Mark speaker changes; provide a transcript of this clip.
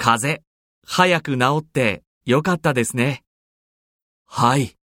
Speaker 1: 風邪、早く治ってよかったですね。
Speaker 2: はい。